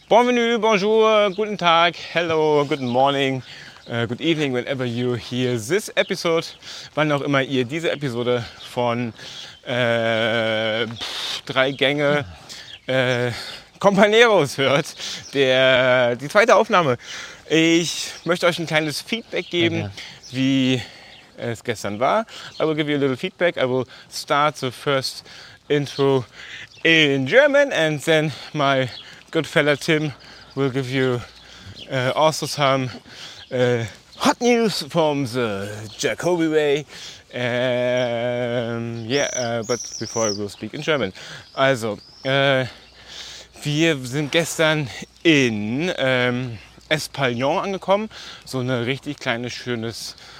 Bienvenue, bonjour, guten Tag, hello, good morning, good evening, whenever you hear this episode, wann auch immer ihr diese Episode von 3 Gänge Companeros hört, die zweite Aufnahme. Ich möchte euch ein kleines Feedback geben, wie es gestern war. I will give you a little feedback. I will start the first intro in German and then my good fella Tim will give you also some hot news from the Jacobi Way. But before I will speak in German. Also, wir sind gestern in Espalion angekommen, so eine richtig kleine schöne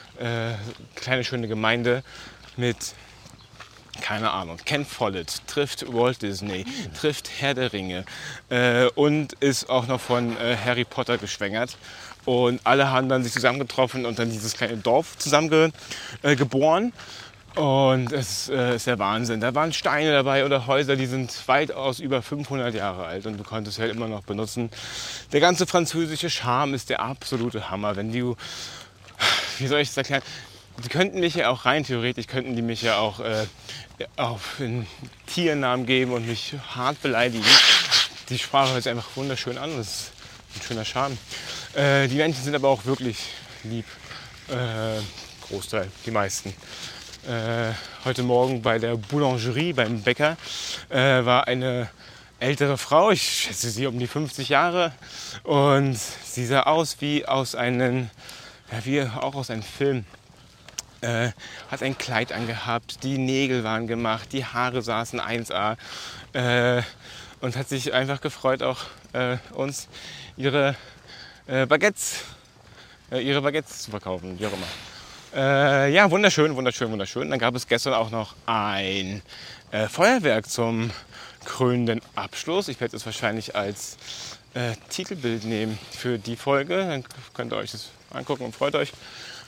Gemeinde mit, keine Ahnung, Ken Follett, trifft Walt Disney, trifft Herr der Ringe und ist auch noch von Harry Potter geschwängert. Und alle haben dann sich zusammengetroffen und dann dieses kleine Dorf geboren. Und es ist der Wahnsinn. Da waren Steine dabei oder Häuser, die sind weitaus über 500 Jahre alt und du konntest halt immer noch benutzen. Der ganze französische Charme ist der absolute Hammer. Wenn du, wie soll ich das erklären? Die könnten mich ja auch rein theoretisch, könnten die mich ja auch auf einen Tiernamen geben und mich hart beleidigen. Die Sprache hört sich einfach wunderschön an, das ist ein schöner Charme. Die Menschen sind aber auch wirklich lieb, Großteil, die meisten. Heute Morgen bei der Boulangerie, beim Bäcker, war eine ältere Frau, ich schätze sie um die 50 Jahre und sie sah aus wie aus einem Film. Hat ein Kleid angehabt, die Nägel waren gemacht, die Haare saßen 1A und hat sich einfach gefreut, auch uns ihre Baguettes zu verkaufen, wie auch immer. Ja, wunderschön. Dann gab es gestern auch noch ein Feuerwerk zum krönenden Abschluss. Ich werde es wahrscheinlich als Titelbild nehmen für die Folge. Dann könnt ihr euch das angucken und freut euch.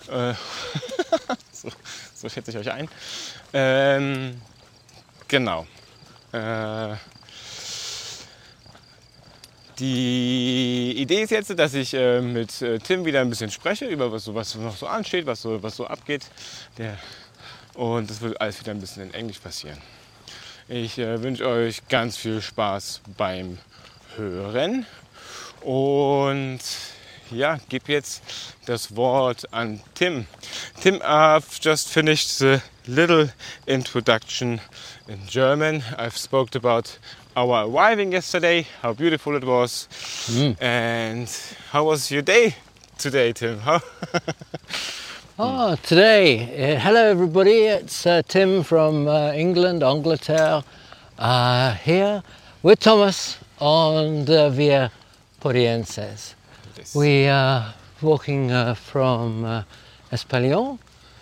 So schätze ich euch ein. Genau. Die Idee ist jetzt, dass ich mit Tim wieder ein bisschen spreche über was noch so ansteht, was so abgeht. Und das wird alles wieder ein bisschen in Englisch passieren. Ich wünsche euch ganz viel Spaß beim Hören und ja, gebe jetzt das Wort an Tim. Tim, I've just finished the little introduction in German. I've spoken about our arriving yesterday, how beautiful it was. And how was your day today, Tim? Today, hello everybody, it's Tim from England, Angleterre, here with Thomas on the Via Porienses. We are walking from Espalion,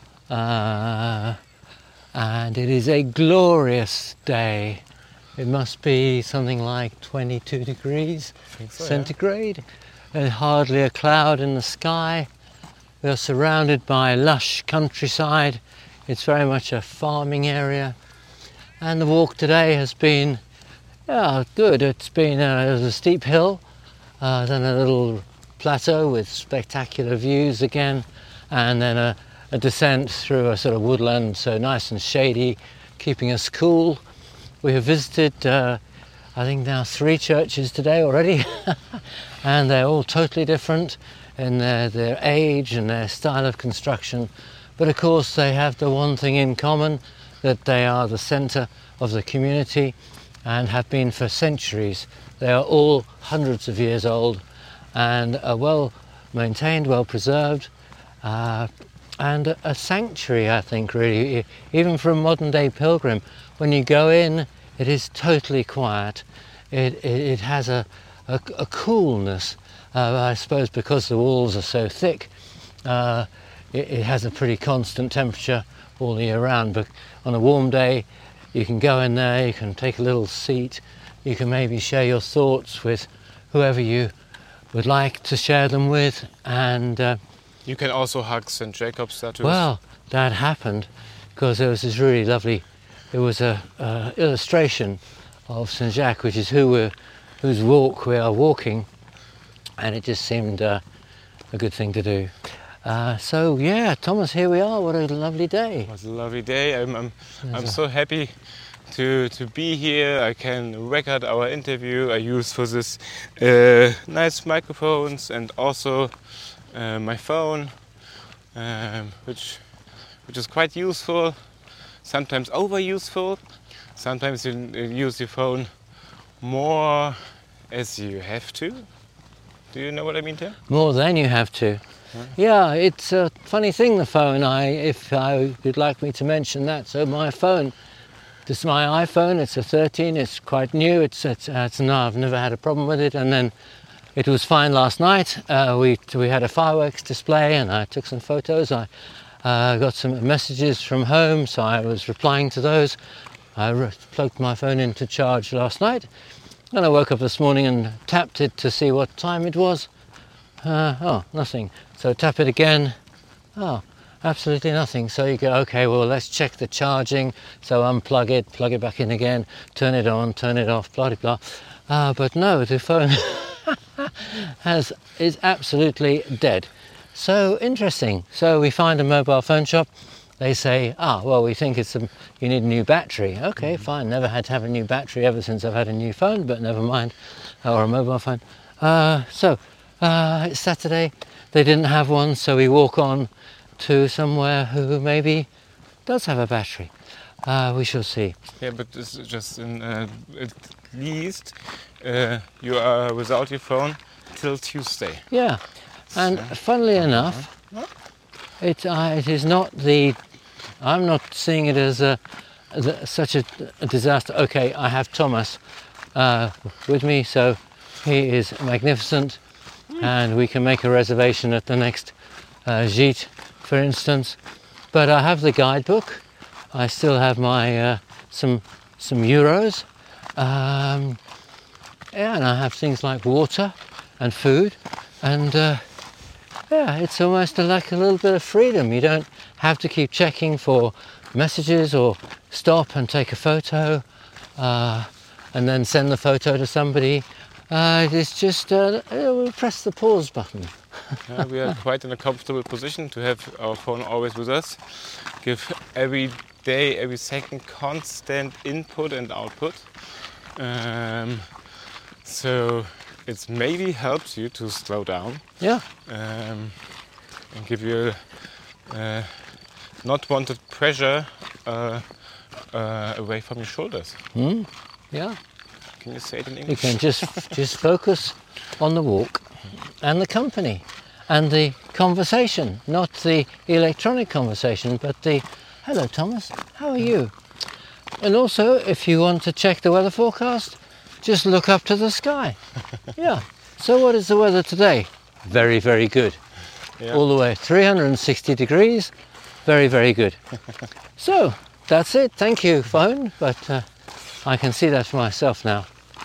and it is a glorious day. It must be something like 22 degrees centigrade. Yeah. There's hardly a cloud in the sky. We are surrounded by lush countryside. It's very much a farming area. And the walk today has been good. It's been a steep hill, then a little plateau with spectacular views again, and then a descent through a sort of woodland, so nice and shady, keeping us cool. We have visited, I think now 3 churches today already, and they're all totally different in their age and their style of construction. But of course they have the one thing in common, that they are the centre of the community and have been for centuries. They are all hundreds of years old and are well maintained, well preserved, and a sanctuary, I think, really, even for a modern day pilgrim. When you go in, it is totally quiet. It has a coolness, I suppose because the walls are so thick. It has a pretty constant temperature all the year round, but on a warm day you can go in there, you can take a little seat, you can maybe share your thoughts with whoever you would like to share them with, and you can also hug St. Jacob's statues. Well, that happened because there was this really lovely, it was a illustration of St. Jacques, which is who we're whose walk we are walking, and it just seemed a good thing to do. So yeah, Thomas, here we are. What a lovely day. It was a lovely day. I'm so happy to be here. I can record our interview. I use for this nice microphones and also my phone, which is quite useful. Sometimes over useful. Sometimes you use your phone more as you have to. Do you know what I mean, Tim? More than you have to. Yeah, it's a funny thing, the phone. If you'd like me to mention that. So my phone, this is my iPhone. It's a 13. It's quite new. I've never had a problem with it. And then it was fine last night. We had a fireworks display, and I took some photos. I got some messages from home, so I was replying to those. I plugged my phone into charge last night, and I woke up this morning and tapped it to see what time it was. Nothing. So tap it again. Oh, absolutely nothing. So you go, okay, well, let's check the charging. So unplug it, plug it back in again, turn it on, turn it off, blah, blah, blah. But no, the phone is absolutely dead. So interesting. So we find a mobile phone shop. They say, well, we think you need a new battery. Okay, fine. Never had to have a new battery ever since I've had a new phone, but never mind. Or a mobile phone. It's Saturday. They didn't have one, so we walk on to somewhere who maybe does have a battery. We shall see. Yeah, but this is just at least you are without your phone till Tuesday. Yeah, and funnily enough, it is not the. I'm not seeing it as such a disaster. Okay, I have Thomas with me, so he is magnificent. And we can make a reservation at the next gîte, for instance. But I have the guidebook. I still have my some euros. And I have things like water and food. And it's almost like a little bit of freedom. You don't have to keep checking for messages or stop and take a photo and then send the photo to somebody. It's just we'll press the pause button. We are quite in a comfortable position to have our phone always with us. Give every day, every second constant input and output. So it maybe helps you to slow down. Yeah. And give you not wanted pressure away from your shoulders. Yeah. Can you say it in English? You can just focus on the walk and the company and the conversation, not the electronic conversation, but the hello Thomas, how are you? And also, if you want to check the weather forecast, just look up to the sky. Yeah. So what is the weather today? Very, very good. Yeah. All the way 360 degrees. Very, very good. So that's it. Thank you, phone. But I can see that for myself now.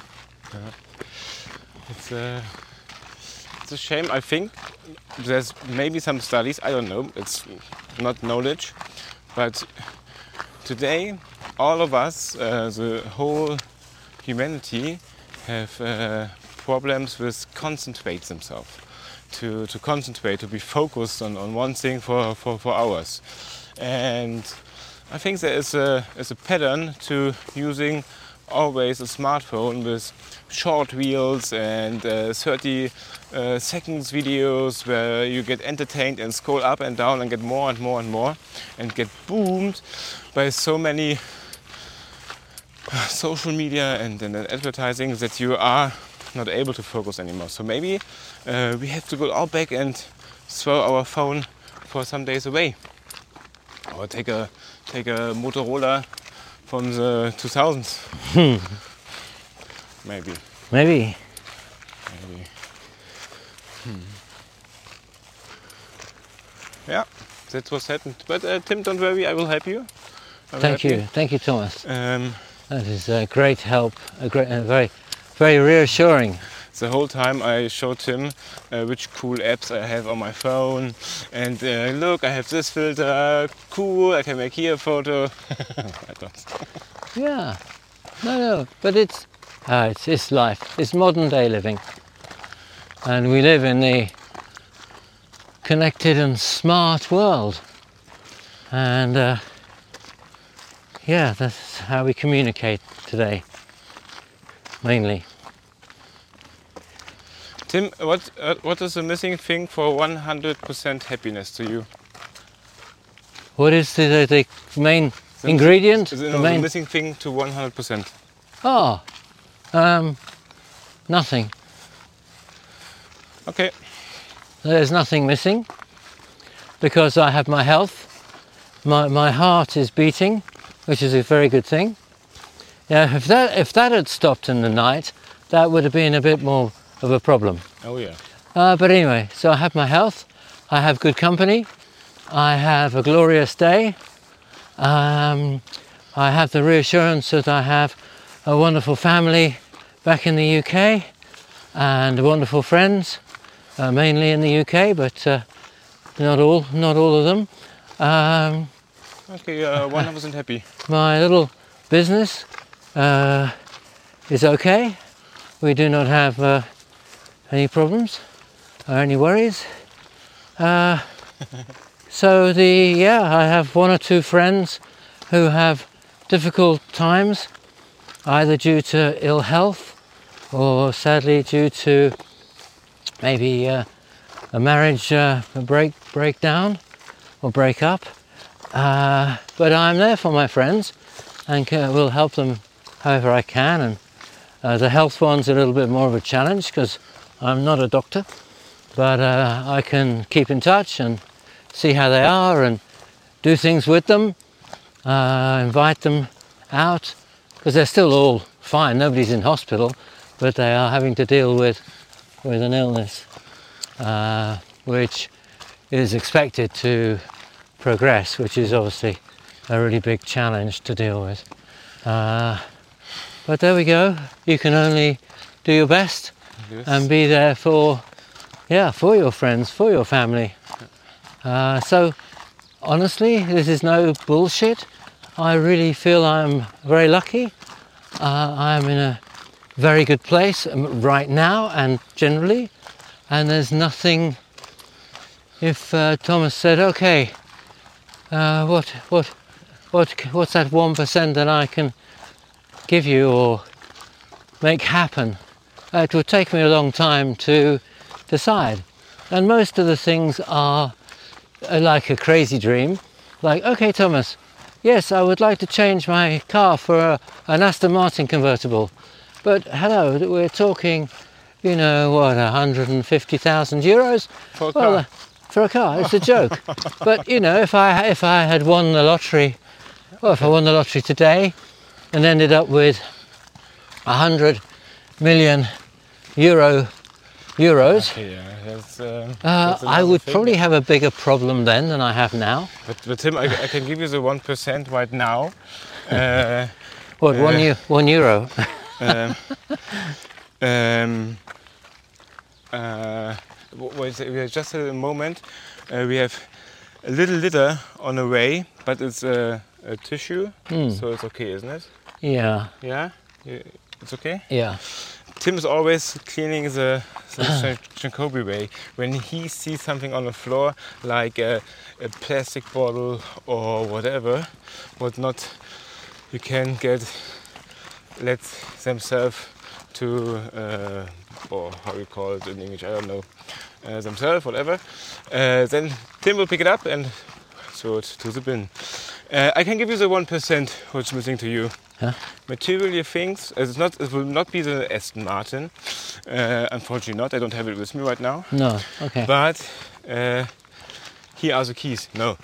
It's a shame. I think there's maybe some studies, I don't know, it's not knowledge, but today all of us, the whole humanity, have problems with concentrate themselves, to concentrate, to be focused on one thing for hours. And I think there is a pattern to using always a smartphone with short reels and 30 seconds videos where you get entertained and scroll up and down and get more and more and more and get boomed by so many social media and advertising that you are not able to focus anymore. So maybe we have to go all back and throw our phone for some days away, or take a Motorola from the 2000s. Maybe. Yeah, that's what's happened. But Tim, don't worry, I will help you. Thank you, Thomas. That is a great help, very, very reassuring. The whole time I showed him which cool apps I have on my phone, and look, I have this filter, cool, I can make here a photo. Yeah, no, but it's It's life. It's modern day living. And we live in the connected and smart world. And yeah, that's how we communicate today, mainly. Tim, what is the missing thing for 100% happiness to you? What is the main ingredient? The missing thing to 100%. Oh, nothing. Okay. There's nothing missing because I have my health. My heart is beating, which is a very good thing. Yeah, if that had stopped in the night, that would have been a bit more of a problem. Oh yeah. But anyway, so I have my health, I have good company, I have a glorious day, I have the reassurance that I have a wonderful family back in the UK and wonderful friends, mainly in the UK, but not all of them. Okay, 100% happy. My little business is okay. We do not have any problems or any worries. So I have one or two friends who have difficult times, either due to ill health or sadly due to maybe a marriage breakdown or break up. But I'm there for my friends and will help them however I can. And the health one's a little bit more of a challenge because I'm not a doctor, but I can keep in touch and see how they are and do things with them, invite them out, because they're still all fine, nobody's in hospital, but they are having to deal with an illness which is expected to progress, which is obviously a really big challenge to deal with. But there we go, you can only do your best. Yes. And be there for your friends, for your family. So honestly, this is no bullshit. I really feel I'm very lucky. I'm in a very good place right now and generally, and there's nothing. If Thomas said, okay, what's that 1% that I can give you or make happen? It would take me a long time to decide. And most of the things are like a crazy dream. Like, okay, Thomas, yes, I would like to change my car for an Aston Martin convertible. But hello, we're talking, 150,000 euros? For a car? For a car, it's a joke. But, if I had won the lottery, if I won the lottery today and ended up with 100 million euros, okay, yeah, that's I would probably have a bigger problem then than I have now. But Tim, I can give you the 1% right now. What, €1? Wait, we just had a moment. We have a little litter on the way, but it's a tissue, so it's okay, isn't it? Yeah. Yeah? It's okay? Yeah. Tim is always cleaning the Jacobi way. When he sees something on the floor, like a plastic bottle or whatever, what not you can let themselves to, or how you call it in English, I don't know, themselves, whatever. Then Tim will pick it up and throw it to the bin. I can give you the 1% what's missing to you. Huh? Material things. It will not be the Aston Martin. Unfortunately not. I don't have it with me right now. No. Okay. But here are the keys. No.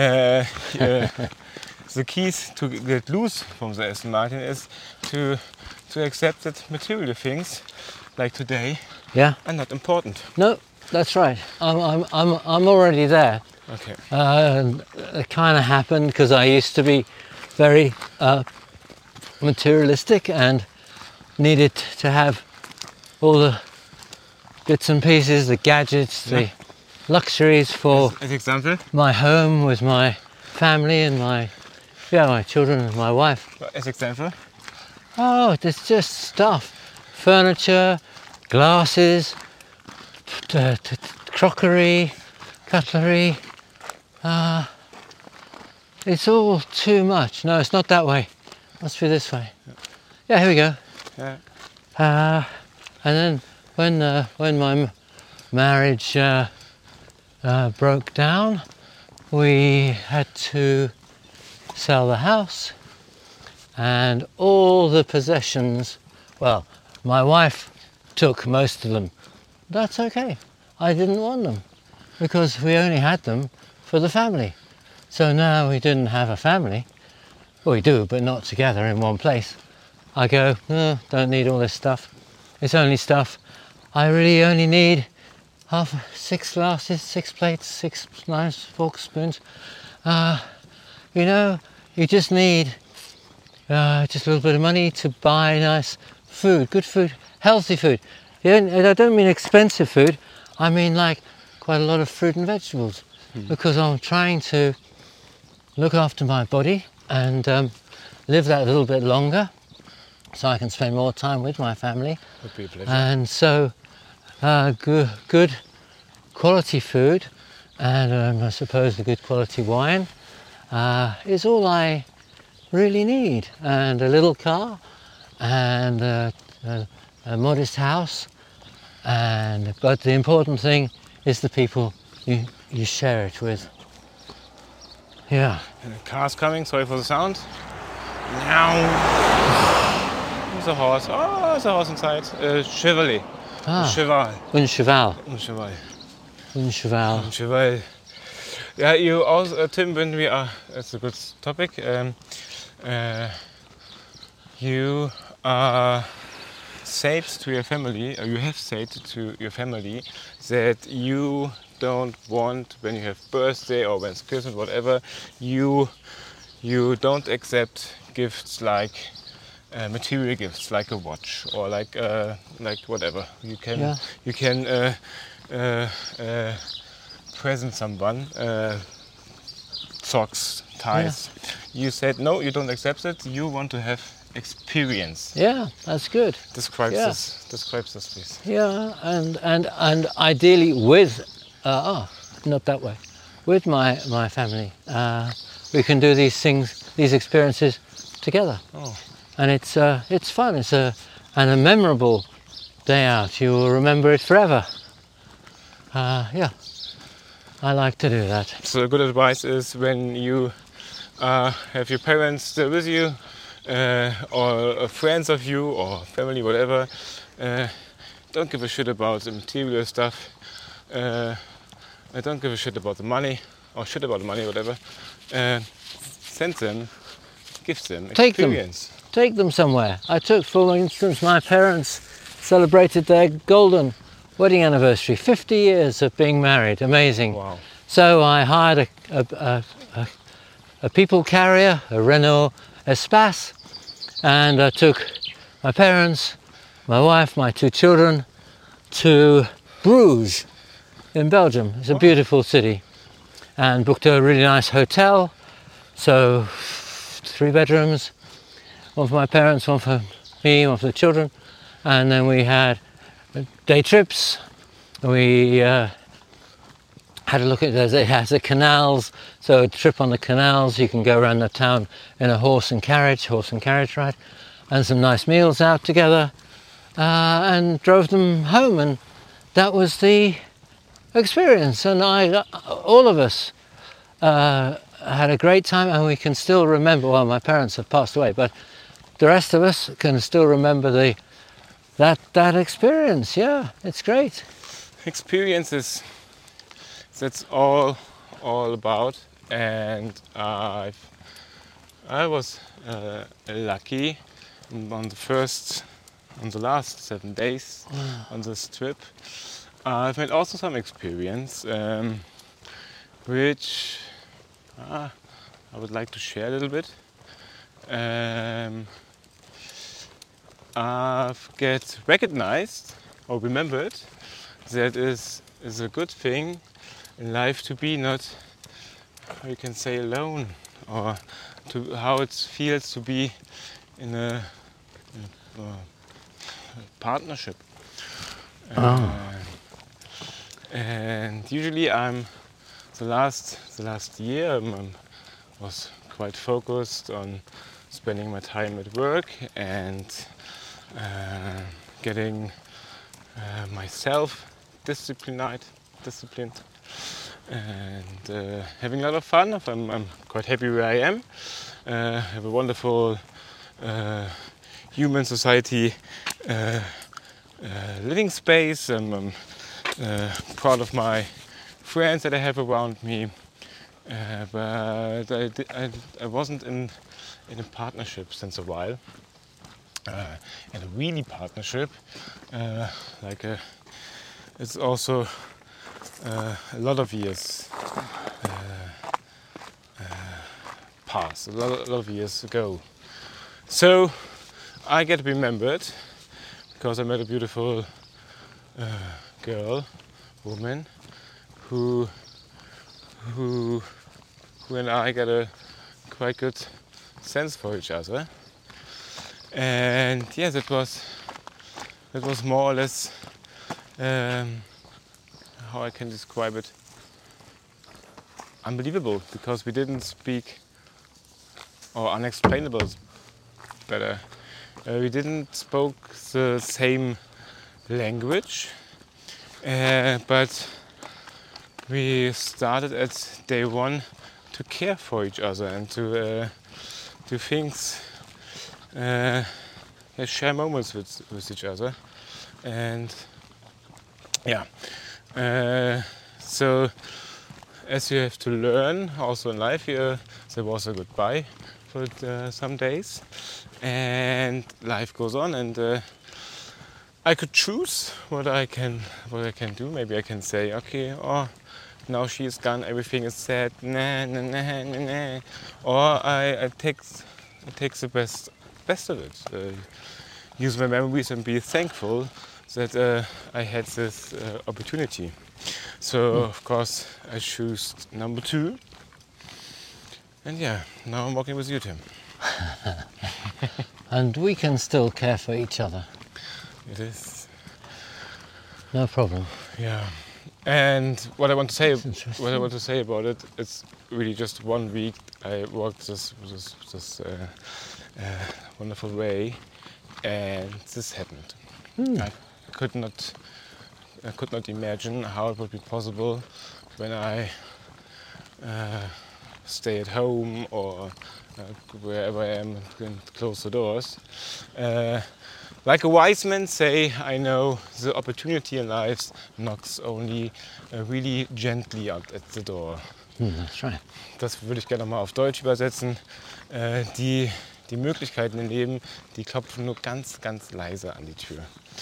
The keys to get loose from the Aston Martin is to accept that material things, like today, are not important. No, that's right. I'm already there. Okay. It kind of happened because I used to be very materialistic and needed to have all the bits and pieces, the gadgets, the luxuries for as example, my home with my family and my children and my wife. as example, Oh, there's just stuff. Furniture, glasses, crockery, cutlery. It's all too much. No, it's not that way. Must be this way. Yeah, here we go. Yeah. And then when my marriage broke down, we had to sell the house and all the possessions. Well, my wife took most of them. That's okay. I didn't want them because we only had them for the family. So now we didn't have a family. Well, we do, but not together in one place. I go, no, don't need all this stuff. It's only stuff. I really only need 6 glasses, 6 plates, 6 knives, forks, spoons. You just need just a little bit of money to buy nice food, good food, healthy food. I don't mean expensive food. I mean like quite a lot of fruit and vegetables, because I'm trying to look after my body and live that little bit longer, so I can spend more time with my family. Would be a pleasure. And so good quality food and I suppose a good quality wine is all I really need, and a little car and a modest house, but the important thing is the people you share it with. Yeah. And the car's coming, sorry for the sound. Now. There's a horse. Oh, there's a horse inside. Chevrolet. Cheval. Un cheval. Un cheval. Un cheval. Un cheval. Yeah, you also, Tim, when we are, it's a good topic. You said to your family, or you have said to your family, that you don't want, when you have birthday or when it's Christmas, whatever, you don't accept gifts like material gifts, like a watch or like whatever. You can present someone socks, ties. Yeah. You said no, you don't accept it. You want to have experience. Yeah, that's good. Describe this, please. Yeah, and ideally with not that way. With my family, we can do these things, these experiences together. Oh. And it's fun. It's a memorable day out. You will remember it forever. Yeah, I like to do that. So good advice is when you have your parents still with you, or friends of you, or family, whatever. Don't give a shit about the material stuff. I don't give a shit about the money, or shit about the money, whatever. Send them, give them experience. Take them somewhere. I took, for instance, my parents celebrated their golden wedding anniversary, 50 years of being married. Amazing. Wow. So I hired a people carrier, a Renault Espace, and I took my parents, my wife, my 2 children to Bruges in Belgium. It's a beautiful city, and booked a really nice hotel. So 3 bedrooms, one for my parents, one for me, one for the children, and then we had day trips. We had a look at it has the canals, so a trip on the canals. You can go around the town in a horse and carriage ride, and some nice meals out together, and drove them home, and that was the experience. And all of us had a great time, and we can still remember. Well, my parents have passed away, but the rest of us can still remember that experience. Yeah, it's great. Experiences. That's all about, and I was lucky on the last 7 days on this trip. I've made also some experience, which I would like to share a little bit. I've get recognized or remembered that is a good thing in life, to be not, how you can say, alone, or to how it feels to be in a partnership. Oh. And usually I'm the last year was quite focused on spending my time at work and getting myself disciplined and having a lot of fun. I'm quite happy where I am. Have a wonderful human society living space. I'm proud of my friends that I have around me, but I wasn't in a partnership since a while, and a really partnership, it's also a lot of years past, a lot of years ago. So I get remembered because I met a beautiful woman, who and I got a quite good sense for each other. And yeah, that was more or less how I can describe it. Unbelievable, because we didn't speak, or unexplainable is better. We didn't spoke the same language, but we started at day one to care for each other and to do things, share moments with each other, and so as you have to learn also in life, there was a goodbye for some days, and life goes on, and I could choose what I can do. Maybe I can say, okay, now she is gone, everything is sad, nah. Or I take the best of it. Use my memories and be thankful that I had this opportunity. So of course I choose number 2. And yeah, now I'm walking with you, Tim. And we can still care for each other. It is. No problem. Yeah. And what I want to say about it, it's really just 1 week I worked this wonderful way, and this happened. I could not imagine how it would be possible when I stay at home or wherever I am and close the doors. Like a wise man say, I know the opportunity in life knocks only really gently at the door. That's right. Das würde ich gerne mal auf Deutsch übersetzen. Die Möglichkeiten im Leben, die klopfen nur ganz, ganz leise an die Tür.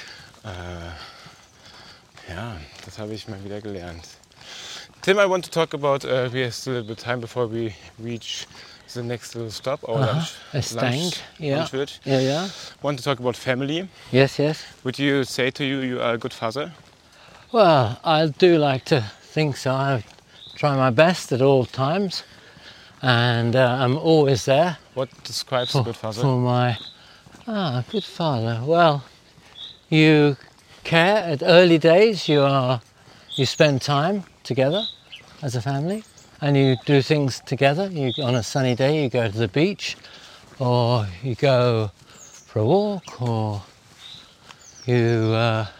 Ja, das habe ich mal wieder gelernt. Tim, I want to talk about, we have still a little bit of time before we reach the next little stop, our lunch. Lunchwürd. Yeah. Want to talk about family. Yes. Would you say to you are a good father? Well, I do like to think so. I try my best at all times, and I'm always there. What describes a good father? For my good father. Well, you care at early days. You spend time together as a family, and you do things together. On a sunny day, you go to the beach, or you go for a walk, or you're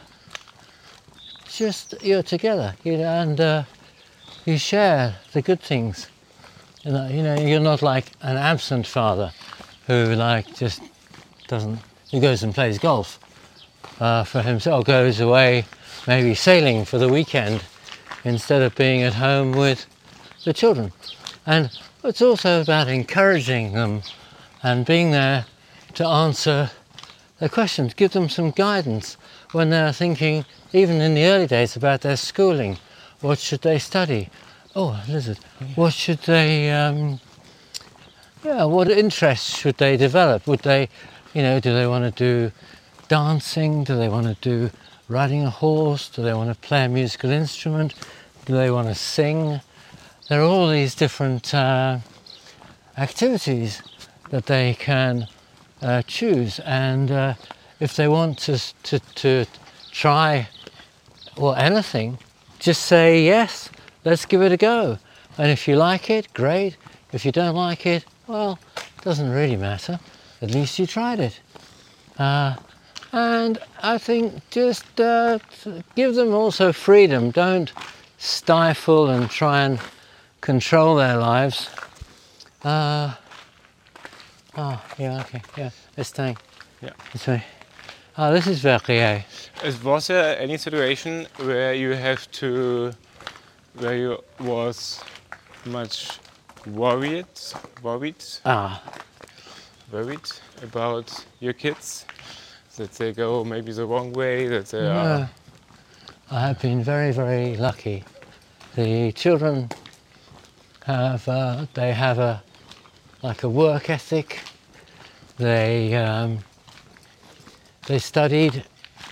together, and you share the good things. You're not like an absent father who just doesn't. He goes and plays golf for himself, goes away maybe sailing for the weekend instead of being at home with the children. And it's also about encouraging them and being there to answer their questions, give them some guidance when they're thinking, even in the early days, about their schooling. What should they study? Oh, a lizard. What should they, what interests should they develop? Would they, do they want to do dancing? Do they want to do riding a horse? Do they want to play a musical instrument? Do they want to sing? There are all these different activities that they can choose. And if they want to try anything, just say yes, let's give it a go. And if you like it, great. If you don't like it, well, it doesn't really matter. At least you tried it. And I think just give them also freedom. Don't stifle and try and control their lives. Yeah, okay, yeah, let's take this way. This is Verrier. Was there any situation where you was much worried about your kids, that they go maybe the wrong way, that they are... I have been very, very lucky. The children have a work ethic. They studied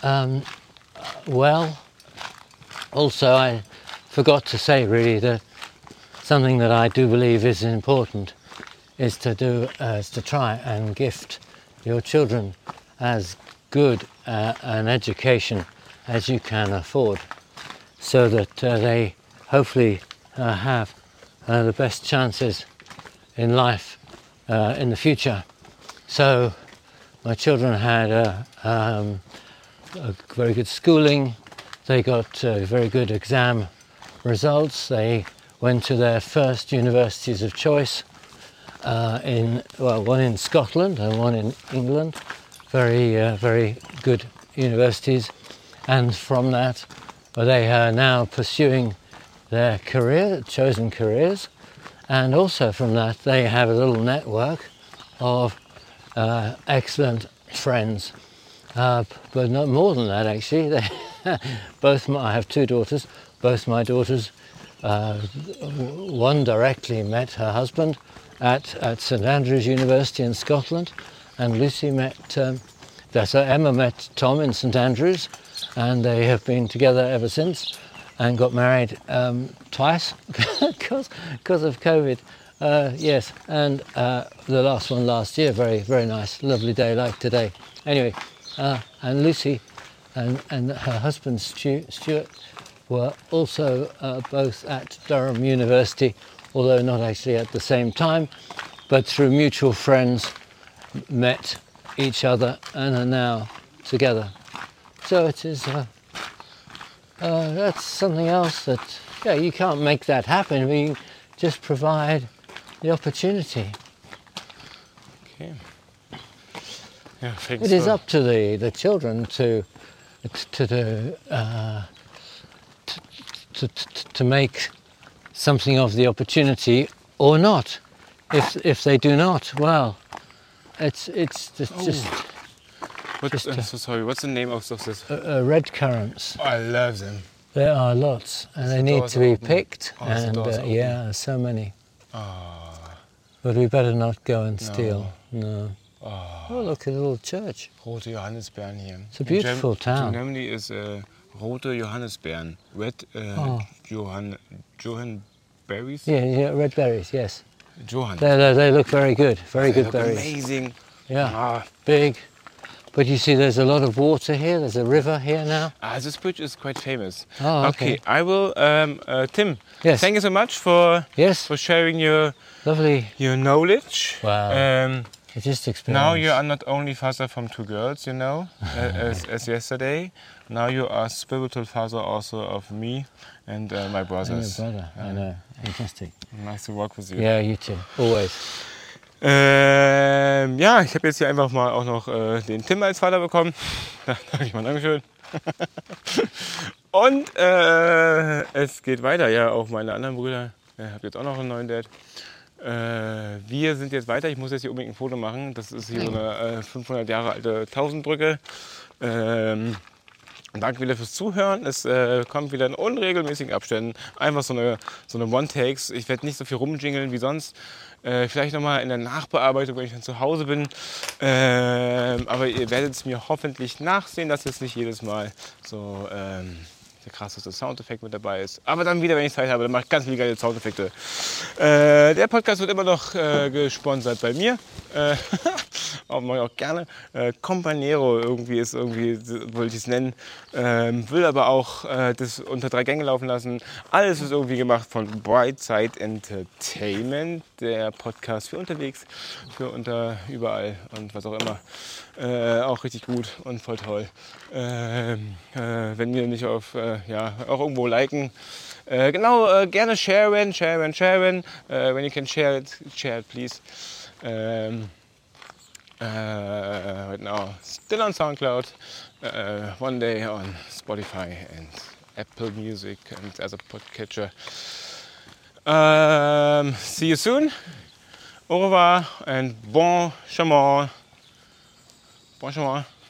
well. Also, I forgot to say really that something that I do believe is important is to try and gift your children as good an education as you can afford, so that they hopefully have the best chances in life in the future. So my children had a very good schooling. They got very good exam results. They went to their first universities of choice, one in Scotland and one in England. Very good universities. And from that, they are now pursuing their chosen careers. And also from that, they have a little network of excellent friends. But not more than that, actually. I have two daughters. Both my daughters, one directly met her husband at St Andrews University in Scotland, and Lucy Emma met Tom in St Andrews, and they have been together ever since, and got married twice because of COVID. Yes, and the last one last year, very, very nice, lovely day like today. Anyway, and Lucy and her husband Stuart were also both at Durham University, although not actually at the same time, but through mutual friends met each other and are now together. So it is that's something else that you can't make that happen. We just provide the opportunity. Okay. Yeah, thanks. It is up to the children to make something of the opportunity or not. If they do not, well, it's just. Sorry, what's the name of this? Red currants. Oh, I love them. There are lots, and they need to be picked. And there's so many. But we better not go and steal. No. Oh, look, a little church. Rote Johannisbeeren here. It's a beautiful town. In Germany is rote Johannisbeeren. Red Johan berries? Yeah, red berries, yes. Johan. They look very good, very good berries. Amazing. Yeah, big. But you see there's a lot of water here, there's a river here now. This bridge is quite famous. Oh, okay. I will, Tim, yes. Thank you so much for sharing your knowledge. Wow. Just experience. Now you are not only father from two girls, as yesterday. Now you are spiritual father also of me and my brothers. And your brother, I know. Fantastic. Nice to work with you. Yeah, you too. Always. Ich habe jetzt hier einfach mal auch noch den Tim als Vater bekommen. Da sage ich mal Dankeschön. Und es geht weiter. Ja, auch meine anderen Brüder. Ich habe jetzt auch noch einen neuen Dad. Wir sind jetzt weiter. Ich muss jetzt hier unbedingt ein Foto machen. Das ist hier so eine 500 Jahre alte Tausendbrücke. Danke wieder fürs Zuhören. Es kommt wieder in unregelmäßigen Abständen. Einfach so eine One-Takes. Ich werde nicht so viel rumjingeln wie sonst. Vielleicht nochmal in der Nachbearbeitung, wenn ich dann zu Hause bin. Aber ihr werdet es mir hoffentlich nachsehen, dass jetzt nicht jedes Mal so der krasseste Soundeffekt mit dabei ist. Aber dann wieder, wenn ich Zeit habe, dann mache ich ganz viele geile Soundeffekte. Der Podcast wird immer noch gesponsert bei mir. mache ich auch gerne. Compañero wollte ich es nennen. Will aber auch das unter 3 Gänge laufen lassen. Alles ist irgendwie gemacht von Brightside Entertainment, der Podcast für unterwegs, für überall und was auch immer. Auch richtig gut und voll toll. Wenn wir nicht auch irgendwo liken. Gerne sharen. When you can share it please. Right now, still on SoundCloud, one day on Spotify and Apple Music and as a podcatcher. See you soon. Au revoir and bon chemin.